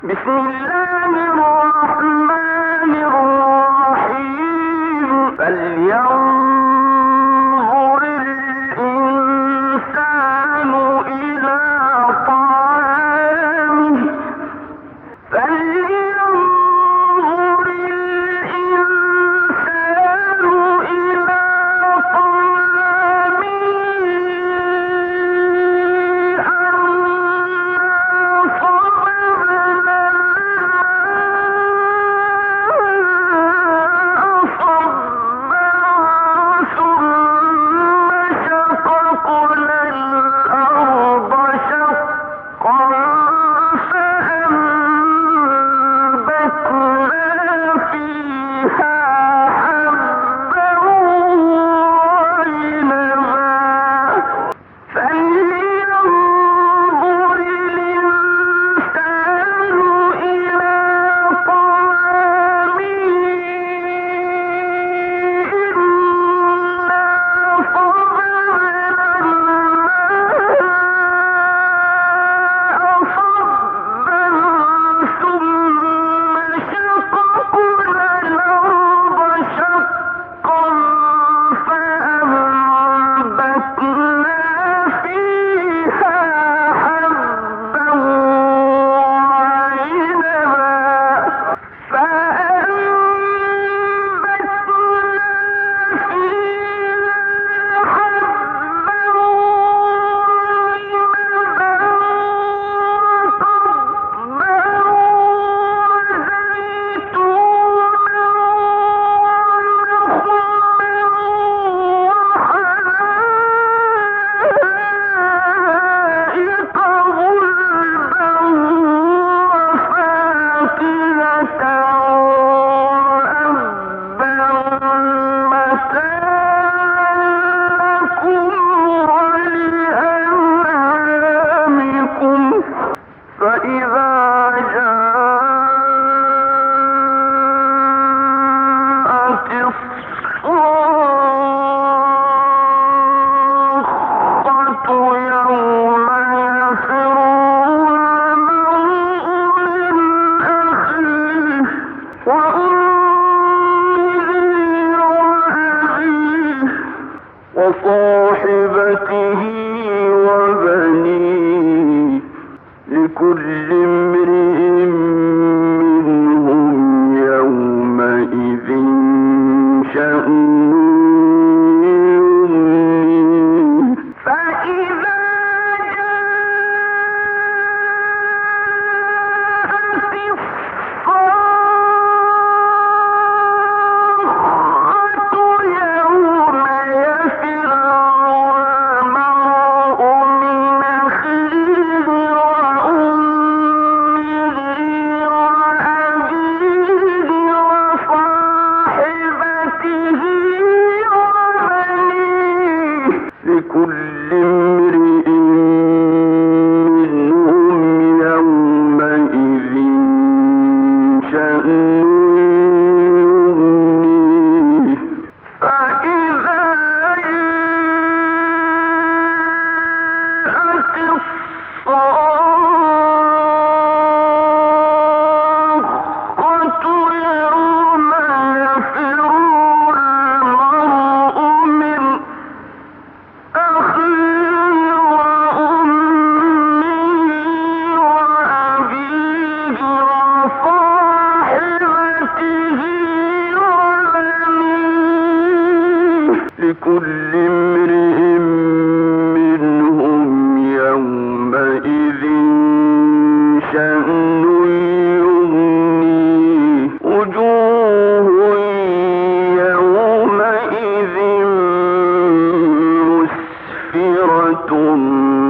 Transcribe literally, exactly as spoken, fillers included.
بسم الله الرحمن الرحيم فلينظر الإنسان إلى طعامه فلينظر الإنسان إلى طعامه وصاحبته وبنيه لكل امرئ منهم يومئذ شأن يغنيه فإذا جاءت الصاخة يوم يفر المرء من أخيه وأمه وأبيه وصاحبته وبنيه لكل امرئ منهم يومئذ شأن يغنيه فإذا جاءت الصاخة يوم يفر المرء من أخيه وأمه وأبيه وصاحبته وبنيه لكل امرئ منهم يومئذ شأن يغنيه وجوه يومئذ مسفرة